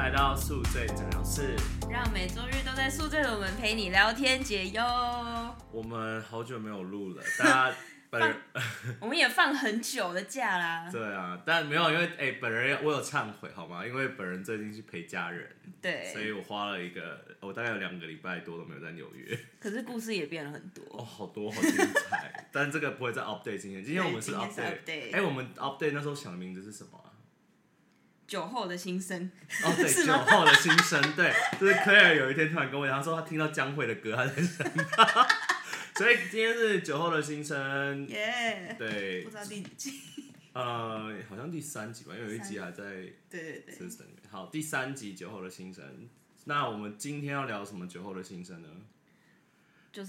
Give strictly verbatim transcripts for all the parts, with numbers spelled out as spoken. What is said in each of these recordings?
来到宿醉诊疗室， 让每周日都在宿醉的我们陪你聊天解忧。 我们好久没有录了，大家本人我们也放很久的假啦。 对啊，但没有，因为哎、欸，本人我有忏悔好吗？因为本人最近去陪家人， 对， 所以我花了一个，我大概有两个礼拜多都没有在纽约。 可是故事也变了很多哦，好多，好精彩。但这个不会在 update 今天，今天我们是 update。哎、欸，我们 update 那时候想的名字是什么啊？ 酒后的心声。 哦，对，酒后的心声，对，就是 Claire 有一天突然跟我讲，他说他听到江蕙的歌，他在想他。所以今天是酒后的心声， 耶、yeah, 对， 不知道第几集， 呃，好像第三集吧，因为有一集还在对对对 system 里面。好，第三集酒后的心声，那我们今天要聊什么酒后的心声呢？ 就是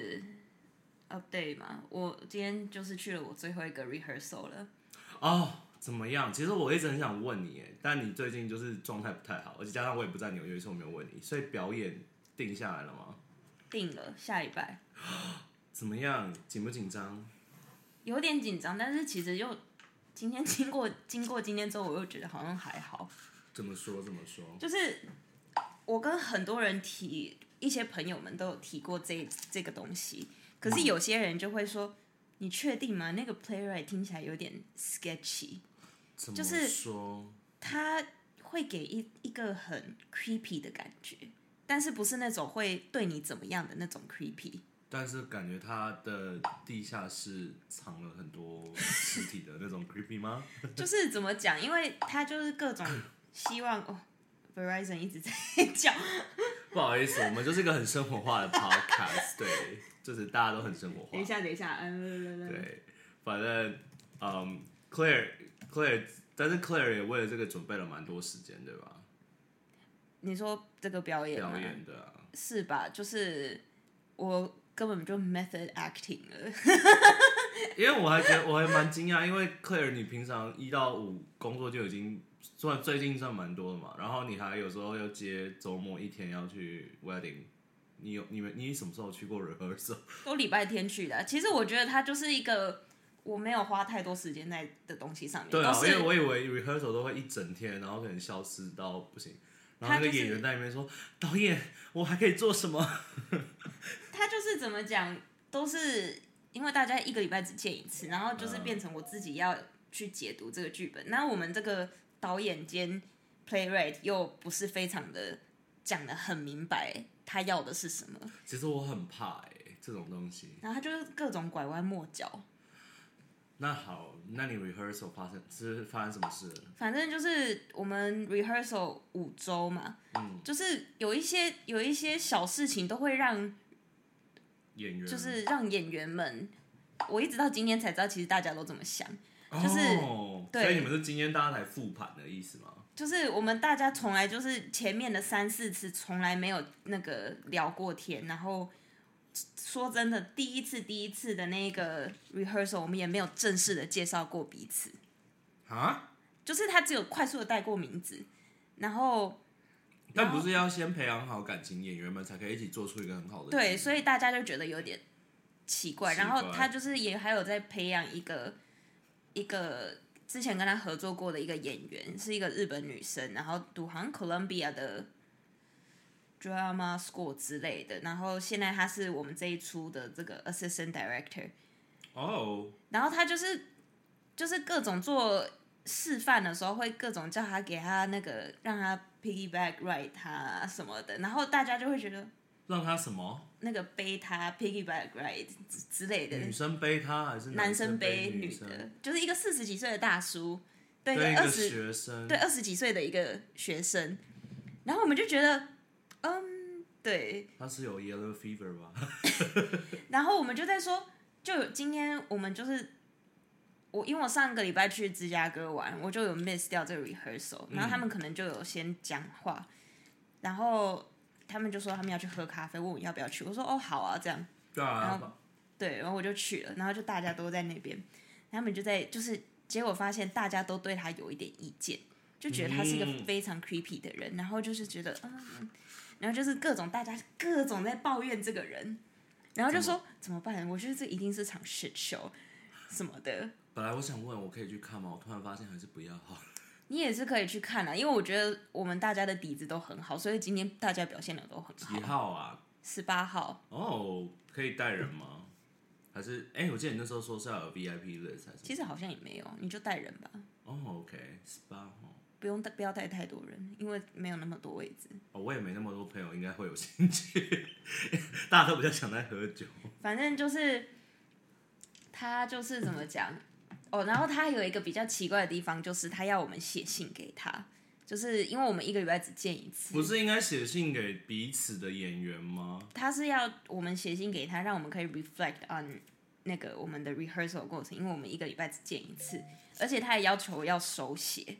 update 嘛，我今天就是去了我最后一个 rehearsal 了。 哦，怎么样？其实我一直很想问你，但你最近就是状态不太好，而且加上我也不在纽约，所以我没有问你。所以表演定下来了吗？ 定了，下礼拜。 怎么样？紧不紧张？ 有点紧张，但是其实又今天经过经过今天之后，我又觉得好像还好。 怎么说？怎么说？ 就是我跟很多人提，一些朋友们都有提过这这个东西，可是有些人就会说：“嗯、你确定吗？那个 playwright 听起来有点 sketchy。” 怎么说？就是他会给一一个很 creepy 的感觉，但是不是那种会对你怎么样的那种 creepy。 但是感觉他的地下室藏了很多尸体的那种 creepy 吗？ 就是怎么讲，因为他就是各种希望哦 ，Verizon 一直在叫。 不好意思，我们就是一个很生活化的 podcast， 对，就是大家都很生活化。 等一下，等一下，嗯， 对，反正嗯 ，Claire Claire， 但是 Claire 也为了这个准备了蛮多时间，对吧？ 你说这个表演吗？ 表演的、啊、 是吧？就是我。根本就 method acting 了， 因为我还觉得我还蛮惊讶，因为 Claire 你平常一到五工作就已经算最近算蛮多的嘛，然后你还有时候要接周末一天要去 wedding， 你有你们你什么时候去过 rehearsal？ 都礼拜天去的。其实我觉得它就是一个我没有花太多时间在的东西上面。 对啊，因为我以为 rehearsal 都会一整天，然后可能消失到不行。然后那个演员在那边说：“导演，我还可以做什么？” 他就是怎么讲，都是因为大家一个礼拜只见一次，然后就是变成我自己要去解读这个剧本。那、嗯、我们这个导演兼 playwright 又不是非常的讲得很明白他要的是什么。 其实我很怕哎、欸，这种东西。 然后他就是各种拐弯抹角。 那好，那你 rehearsal 发生是发生什么事了？ 反正就是我们 rehearsal 五周嘛，嗯，就是有一些有一些小事情都会让演员， 就是让演员们，我一直到今天才知道，其实大家都这么想，就是、 哦、 对， 所以你们是今天大家才复盘的意思吗？ 就是我们大家从来就是前面的三四次从来没有那个聊过天，然后。说真的，第一次第一次的那个 rehearsal， 我们也没有正式的介绍过彼此。 啊？ 就是他只有快速的带过名字，然后。 但不是要先培养好感情，演员们才可以一起做出一个很好的。 对，所以大家就觉得有点奇怪。 奇怪然后他就是也还有在培养一个一个之前跟他合作过的一个演员，是一个日本女生，然后读好像 Columbia 的。Drama School 之类的，然后现在他是我们这一出的这个 Assistant Director。 哦。Oh. 然后他就是就是各种做示范的时候，会各种叫他给他那个让他 piggyback ride 他什么的，然后大家就会觉得让他什么？ 那个背他 piggyback ride 之类的。 女生背他还是男生背女的？就是一个四十几岁的大叔对一个二十学生， 对二十几岁的一个学生，然后我们就觉得。嗯，对。 他是有 yellow fever 吧？ 然后我们就在说，就今天我们就是我，因为我上个礼拜去芝加哥玩，我就有 miss 掉这个 rehearsal，然后他们可能就有先讲话，嗯、然后他们就说他们要去喝咖啡，问我要不要去，我说哦好啊这样。 对啊。 然后对，然后我就去了，然后就大家都在那边，他们就在就是结果发现大家都对他有一点意见，就觉得他是一个非常 creepy 的人，嗯、然后就是觉得嗯。然后就是各种大家各种在抱怨这个人，然后就说怎么办？我觉得这一定是场 shit show 什么的。 本来我想问我可以去看吗？我突然发现还是不要好了。 你也是可以去看啊，因为我觉得我们大家的底子都很好，所以今天大家表现的都很好。 几号啊？ 十八号。 哦，可以带人吗？还是哎、欸，我记得你那时候说是要有 V I P list 还是？ 其实好像也没有，你就带人吧。 哦 ，OK， 十八号。 不用不要带太多人，因为没有那么多位置。 哦，我也没那么多朋友，应该会有兴趣。大家都比较想在喝酒。 反正就是他就是怎么讲哦，然后他有一个比较奇怪的地方，就是他要我们写信给他，就是因为我们一个礼拜只见一次。 不是应该写信给彼此的演员吗？ 他是要我们写信给他，让我们可以 reflect on 那个我们的 rehearsal 过程，因为我们一个礼拜只见一次，而且他也要求要手写。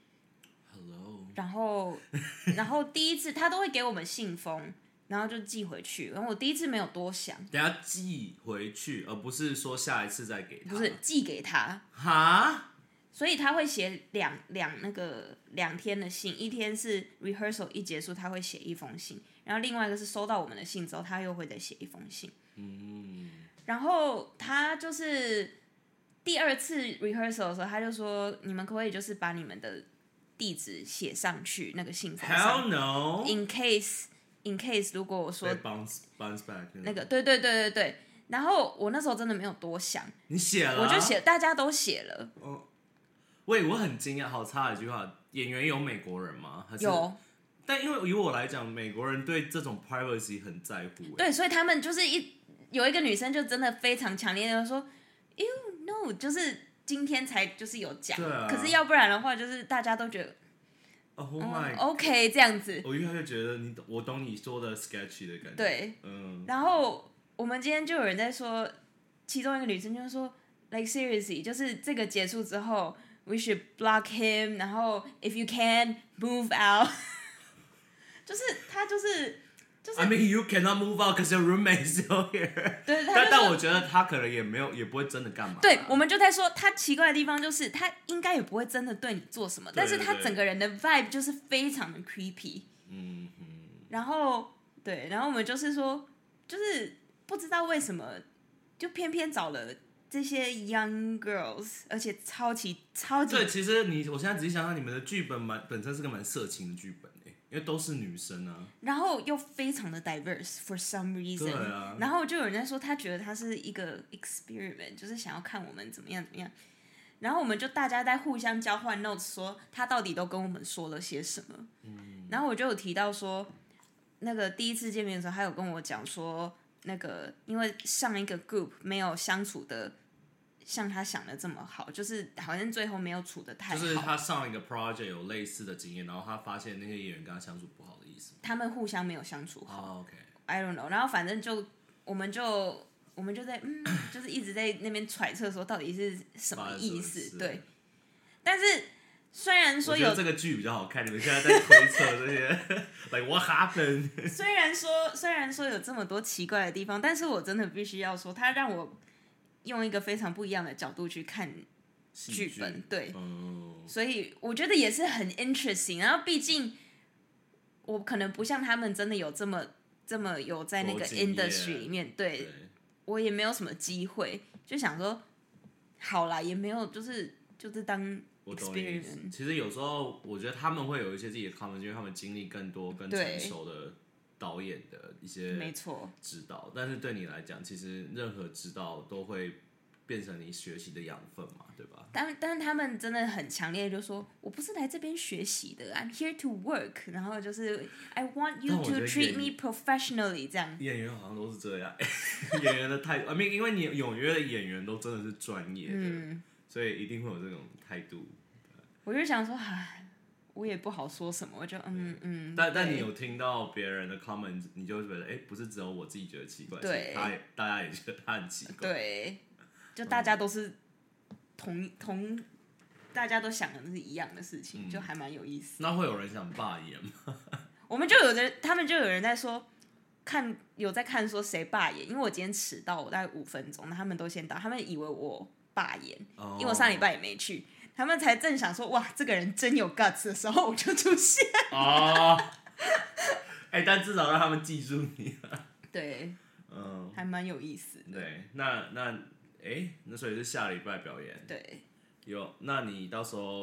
Hello。 然后，然后第一次他都会给我们信封，然后就寄回去。然后我第一次没有多想， 等下寄回去，而不是说下一次再给他。 不是寄给他。 哈？ 所以他会写两两那个两天的信，一天是 rehearsal 一结束，他会写一封信，然后另外一个是收到我们的信之后，他又会再写一封信。嗯。然后他就是第二次 rehearsal 的时候，他就说：“你们可不可以就是把你们的地址写上去那个信封上 ？Hell no！ In case in case 如果我说 bounce bounce back 那个，对对对对对。然后我那时候真的没有多想， 你写了、啊， 我就写，大家都写了。 哦，喂，我很惊讶，好差的一句话。演员有美国人吗？还是有。 但因为以我来讲，美国人对这种 privacy 很在乎。 对，所以他们就是一有一个女生就真的非常强烈的说 ，You know， 就是今天才就是有讲、 啊， 可是要不然的话，就是大家都觉得。 Oh my， 嗯 OK， 这样子。 我越来越觉得你，我懂你说的 sketchy 的感觉。 对， 嗯。 然后我们今天就有人在说，其中一个女生就说 ，like seriously， 就是这个结束之后 ，we should block him， 然后 if you can move out， 就是他就是就是。 I mean you cannot move out because your roommate is still here 对， 但但我觉得他可能也没有，也不会真的干嘛。 对，我们就在说他奇怪的地方就是他应该也不会真的对你做什么， 对对对， 但是他整个人的 vibe 就是非常的 creepy。 嗯嗯。 然后对，然后我们就是说，就是不知道为什么，就偏偏找了这些 young girls， 而且超级超级。 对，其实你我现在仔细想想，你们的剧本蛮本身是个蛮色情的剧本。因为都是女生啊， 然后又非常的 diverse for some reason， 对啊， 然后就有人在说他觉得他是一个 experiment， 就是想要看我们怎么样怎么样，然后我们就大家在互相交换 notes， 说他到底都跟我们说了些什么。嗯，然后我就有提到说，那个第一次见面的时候，他有跟我讲说，那个因为上一个 group 没有相处的像他想的这么好，就是好像最后没有处的太好。 就是他上一个 project 有类似的经验，然后他发现那些演员跟他相处不好的意思。 他们互相没有相处好。 Oh, OK。 I don't know。然后反正就我们就我们就在嗯，就是一直在那边揣测说到底是什么意思，对。但是虽然说有我觉得这个剧比较好看，你们现在在推测这些，like what happened？ 虽然说虽然说有这么多奇怪的地方，但是我真的必须要说，他让我用一个非常不一样的角度去看剧本，对， 嗯， 所以我觉得也是很 interesting。然后毕竟我可能不像他们真的有这么这么有在那个 industry 里面，对， 对我也没有什么机会，就想说好啦，也没有就是就是当 experiment。 其实有时候我觉得他们会有一些自己的 comment， 因为他们经历更多、更成熟的导演的一些没错指导，但是对你来讲，其实任何指导都会变成你学习的养分嘛，对吧？ 但但是他们真的很强烈，就说我不是来这边学习的 ，I'm here to work， 然后就是 I want you to treat me professionally 这样。 演员好像都是这样，演员的态度，I mean， 因为你纽约的演员都真的是专业的，嗯、所以一定会有这种态度。 我就想说，唉，我也不好说什么，我就嗯嗯。 但但你有听到别人的 comment， 你就会觉得，哎、欸，不是只有我自己觉得奇怪， 对， 他大家也觉得他很奇怪， 对，就大家都是同、嗯、同，大家都想的是一样的事情，嗯、就还蛮有意思。 那会有人想罢演吗？ 我们就有人，他们就有人在说，看有在看说谁罢演，因为我今天迟到，我大概五分钟，那他们都先到，他们以为我罢演，哦、因为我上礼拜也没去。他们才正想说哇，这个人真有 guts 的时候，我就出现哦。哎、欸，但至少让他们记住你了。 对，嗯，还蛮有意思的。 对，那那哎、欸，那所以是下礼拜表演。 对， 有，那你到时候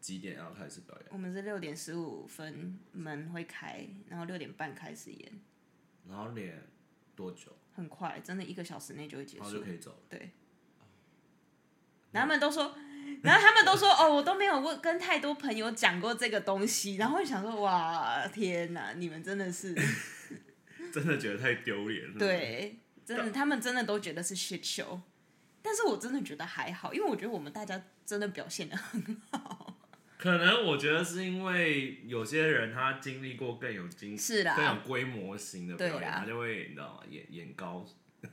几点要开始表演？ 我们是六点十五分门会开，然后六点半开始演。 然后练多久？ 很快，真的一个小时内就会结束， 然后就可以走了。 对。然后他们都说，然后他们都说，哦，我都没有问跟太多朋友讲过这个东西，然后我想说，哇，天哪，你们真的是， 真的觉得太丢脸了。 对，真的，他们真的都觉得是 shit show， 但是我真的觉得还好，因为我觉得我们大家真的表现得很好。 可能我觉得是因为有些人他经历过更有经是啦更有规模型的表演，他就会你知道吗？眼眼高。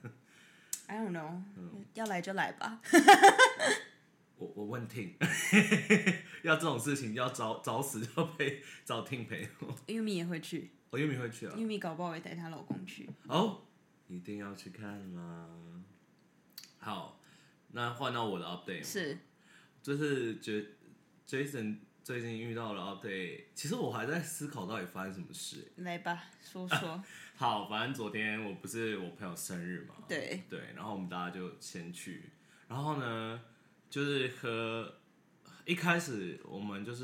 I don't know，、嗯、要来就来吧。 我我问听，要这种事情要早早死就陪找听陪我。 玉米也会去， 我、哦、玉米会去啊。 玉米搞不好会带她老公去。 哦，一定要去看吗？好，那换到我的 update 是， 就是觉 Jason 最近遇到了 update， 其实我还在思考到底发生什么事。 来吧，说说。 好，反正昨天我不是我朋友生日嘛， 对对，然后我们大家就先去，然后呢，就是喝，一开始我们就是，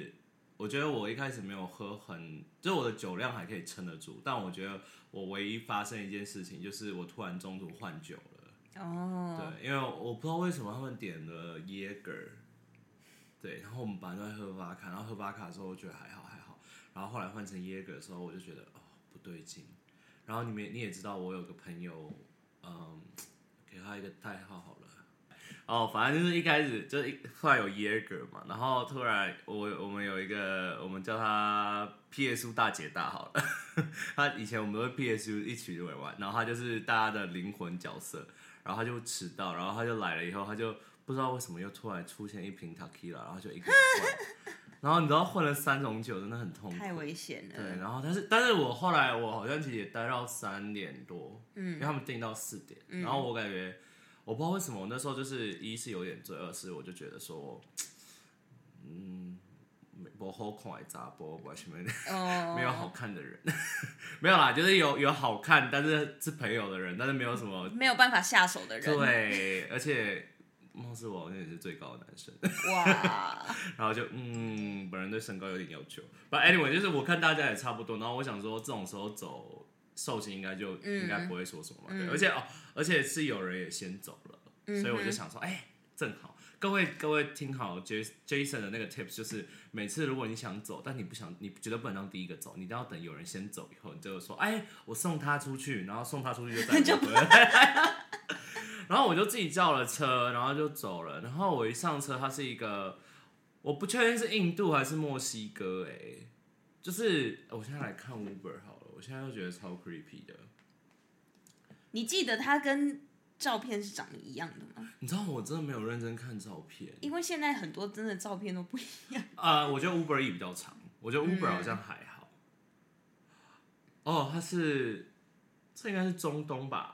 我觉得我一开始没有喝很，就是我的酒量还可以撑得住，但我觉得我唯一发生一件事情就是我突然中途换酒了， 哦， 对，因为我不知道为什么他们点了耶格，对，然后我们本来都在喝巴卡，然后喝巴卡的时候我觉得还好还好，然后后来换成耶格的时候我就觉得哦不对劲。然后你们你也知道，我有个朋友，嗯，给他一个代号好了。哦，反正就是一开始就是后来有耶格嘛，然后突然我我们有一个，我们叫他 P S U 大姐大好了。他以前我们都会 P S U 一起玩玩，然后他就是大家的灵魂角色，然后他就迟到，然后他就来了以后，他就不知道为什么又突然出现一瓶 Tequila， 然后就一个人灌。然后你知道混了三种酒真的很痛苦， 太危险了。 对，然后但是但是我后来我好像其实也待到三点多，嗯，因为他们订到四点，嗯、然后我感觉我不知道为什么我那时候就是一是有点醉，二是我就觉得说，嗯，不好看的查甫，完全没没有好看的人，没有啦，就是有有好看但是是朋友的人，但是没有什么没有办法下手的人， 对，而且。貌似我好像也是最高的男生， 哇！ 然后就嗯，本人对身高有点要求。But anyway， 就是我看大家也差不多，然后我想说这种时候走寿星应该就、嗯、应该不会说什么嘛，对、嗯。而且哦，而且是有人也先走了，嗯、所以我就想说，哎、欸，正好，各位各位听好 Jason 的那个 tips， 就是每次如果你想走，但你不想，你绝对不能当第一个走，你一定要等有人先走以后，你就说，哎、欸，我送他出去，然后送他出去就再不回来。然后我就自己叫了车，然后就走了。然后我一上车，它是一个，我不确定是印度还是墨西哥、欸，哎，就是我现在来看 Uber 好了，我现在又觉得超 creepy 的。 你记得它跟照片是长得一样的吗？ 你知道我真的没有认真看照片， 因为现在很多真的照片都不一样。 啊、呃，我觉得 Uber E 比较长，我觉得 Uber 好像还好。嗯、哦，它是，这应该是中东吧？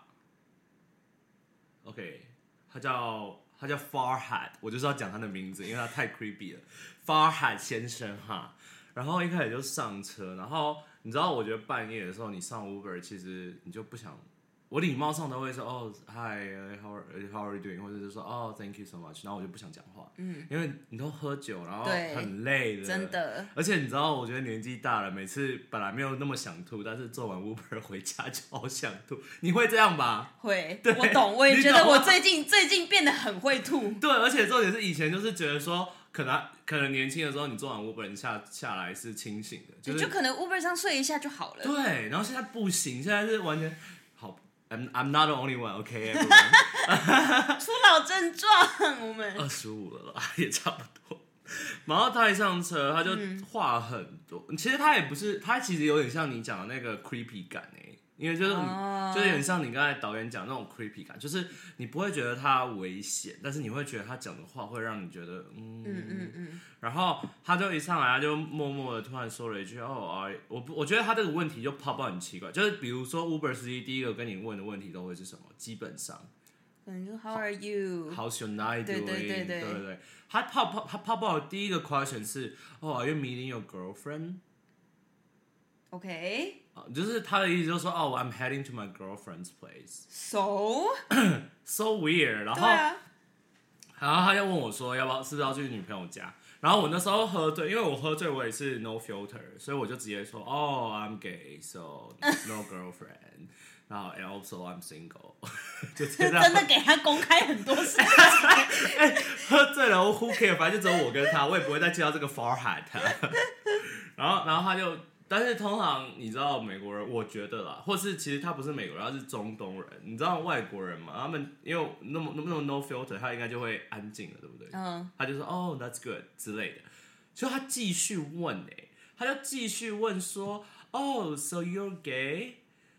OK， 他叫他叫 Farhad， 我就是要讲他的名字，因为他太 creepy 了。Farhad 先生哈，然后一开始就上车，然后你知道，我觉得半夜的时候你上 Uber， 其实你就不想，我礼貌上都会说哦 ，Hi，how are how are you doing， 或者是说哦 ，Thank you so much， 然后我就不想讲话，嗯，因为你都喝酒，然后很累的， 真的。 而且你知道，我觉得年纪大了，每次本来没有那么想吐，但是做完 Uber 回家就好想吐。你会这样吧？ 会，我懂，我也觉得我最近最近变得很会吐。 对，而且重点是以前就是觉得说，可能可能年轻的时候你做完 Uber 你下下来是清醒的，就是就可能 Uber 上睡一下就好了。 对，然后现在不行，现在是完全好。I'm I'm not the only one, OK, everyone. 初老症状，我们二十五了啦，也差不多。然后他一上车，他就话很多。嗯、其实他也不是，他其实有点像你讲的那个 creepy 感哎、欸，因为就是、oh. 就是有点像你刚才导演讲那种 creepy 感，就是你不会觉得他危险，但是你会觉得他讲的话会让你觉得嗯嗯嗯嗯。然后他就一上来，他就默默的突然说了一句哦，我我觉得他这个问题就泡泡很奇怪，就是比如说 Uber 司机第一个跟你问的问题都会是什么？基本上。 可能就 How are you? How's your night doing? 对对对对对对，他泡泡他泡泡的第一个 question 是哦、oh, Are you meeting your girlfriend? OK， 就是他的意思就是说哦、oh, I'm heading to my girlfriend's place. So so weird. 然后、啊、然后他就问我说要不要是不是要去女朋友家？ 然后我那时候喝醉，因为我喝醉我也是 no filter， 所以我就直接说哦、oh, I'm gay so no girlfriend， 然后 and also I'm single， 就真的给他公开很多事情。 欸、喝醉了 who care， 反正就只有我跟他，我也不会再介绍这个 Farhad。然后然后他就。但是通常你知道美国人，我觉得啦，或是其实他不是美国人，他是中东人。你知道外国人嘛？他们因为那么那么 no filter， 他应该就会安静了，对不对？嗯。他就说哦、oh, that's good 之类的。就他继续问哎、欸，他就继续问说哦 so you're gay，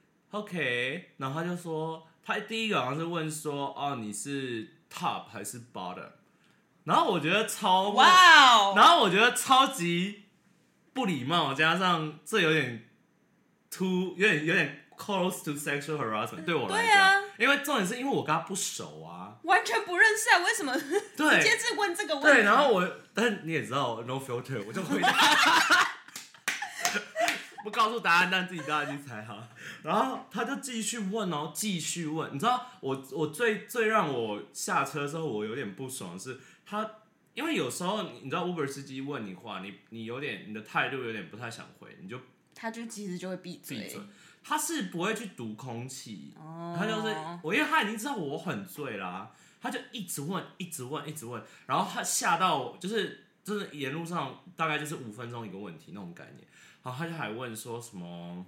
OK， 然后他就说他第一个好像是问说哦你是 top 还是 bottom， 然后我觉得超哇， wow 然后我觉得超级。不礼貌，加上这有点 too 有点有点 close to sexual harassment 对我来讲、啊，因为重点是因为我跟他不熟啊， 完全不认识啊，为什么直接是问这个问题？ 对，然后我，但你也知道 no filter， 我就回答，不告诉答案，但自己大家去猜哈。然后他就继续问哦，继续问，你知道我我最最让我下车的时候我有点不爽的是他。因为有时候你知道 Uber 司机问你话，你你有点你的态度有点不太想回，你就他就其实就会闭嘴，闭嘴， 他是不会去读空气，哦、他就是我，因为他已经知道我很醉啦、啊，他就一直问，一直问，一直问，然后他吓到就是就是沿路上大概就是五分钟一个问题那种概念，然后他就还问说什么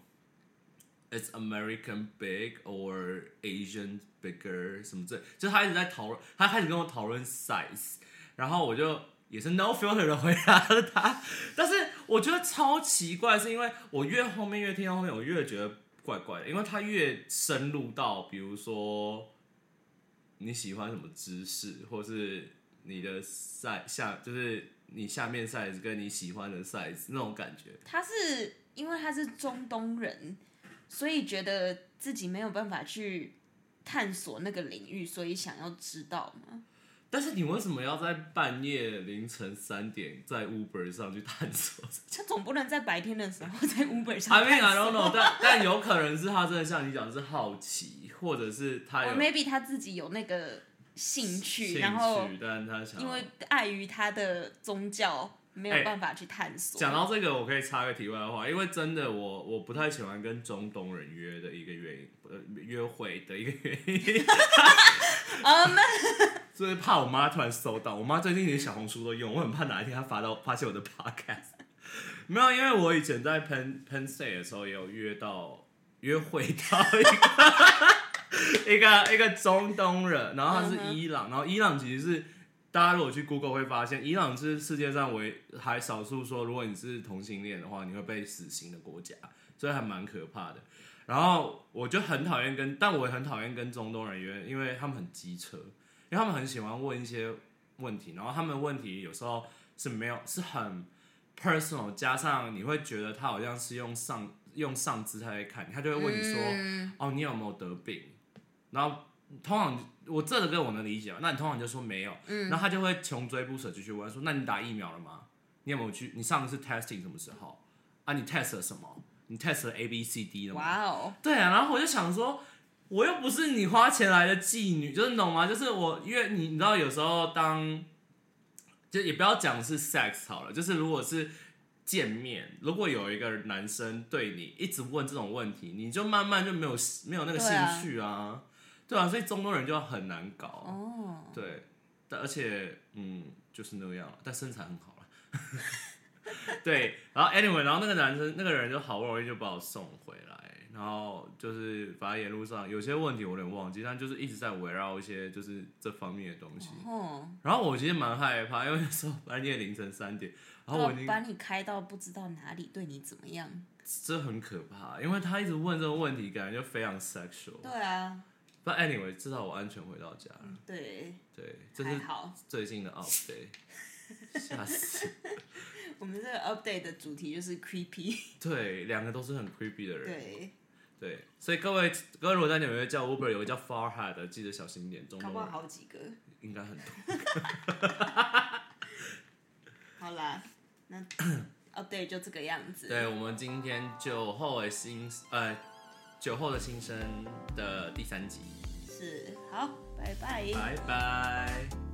，Is American big or Asian bigger 什么之类，就他一直在讨论，他开始跟我讨论 size。然后我就也是 no filter 的回答了他，但是我觉得超奇怪，是因为我越后面越听到后面，我越觉得怪怪的，因为他越深入到，比如说你喜欢什么姿势，或是你的 size 下，就是你下面 size 跟你喜欢的 size 那种感觉。 他是因为他是中东人，所以觉得自己没有办法去探索那个领域，所以想要知道吗？ 但是你为什么要在半夜凌晨三点在 Uber 上去探索？ 他总不能在白天的时候在 Uber 上探索。 I mean I don't know， 但但有可能是他真的像你讲是好奇，或者是他有 or maybe 他自己有那个兴趣， 兴趣然后但他想因为碍于他的宗教没有办法去探索。 讲、欸、到这个，我可以插个题外话，因为真的我我不太喜欢跟中东人约的一个原因，呃，约会的一个原因。 嗯。 就是怕我妈突然收到，我妈最近连小红书都用，我很怕哪一天她发到发现我的 podcast。没有，因为我以前在 Penn Penn State 的时候也有约到约会到一个一个一个中东人，然后他是伊朗，然后伊朗其实是大家如果去 Google 会发现，伊朗是世界上唯还少数说如果你是同性恋的话，你会被死刑的国家，所以还蛮可怕的。然后我就很讨厌跟，但我也很讨厌跟中东人约，因为他们很机车。因为他们很喜欢问一些问题，然后他们的问题有时候是没有是很 personal， 加上你会觉得他好像是用上用上姿态在看你，他就会问你说，嗯、哦，你有没有得病？然后通常我这个跟我能理解，那你通常就说没有，嗯、然后他就会穷追不舍继续问说，那你打疫苗了吗？你有没有去？你上一次 testing 什么时候？啊，你 test 了什么？你 test 了 A B C D 了吗？哇哦！对啊，然后我就想说。我又不是你花钱来的妓女，就是你懂吗？就是我，因为你你知道，有时候当就也不要讲是 sex 好了，就是如果是见面，如果有一个男生对你一直问这种问题，你就慢慢就没有没有那个兴趣啊，对 啊, 對啊，所以中东人就很难搞哦，对，但而且嗯就是那样，但身材很好了，对，然后 anyway， 然后那个男生那个人就好不容易就把我送回来。然后就是反正沿路上有些问题我有点忘记，但就是一直在围绕一些就是这方面的东西。哦、然后我其实蛮害怕，因为那时候半夜凌晨三点，然后我已经把你开到不知道哪里，对你怎么样？ 这很可怕，因为他一直问这个问题，感觉就非常 sexual。 对啊。 But anyway， 至少我安全回到家了。 嗯、对。 对，这是最近的 update。吓死！ 我们这个 update 的主题就是 creepy。对， 两个都是很 creepy 的人。 对。 对，所以各位，各位如果在纽约叫 Uber， 有个叫 Farhad 的，记得小心一点。中搞不好好几个。 应该很多。 好啦，那 update 就这个样子。 对，我们今天酒后的新呃酒后的新生的第三集。 是，好，拜拜。 拜拜。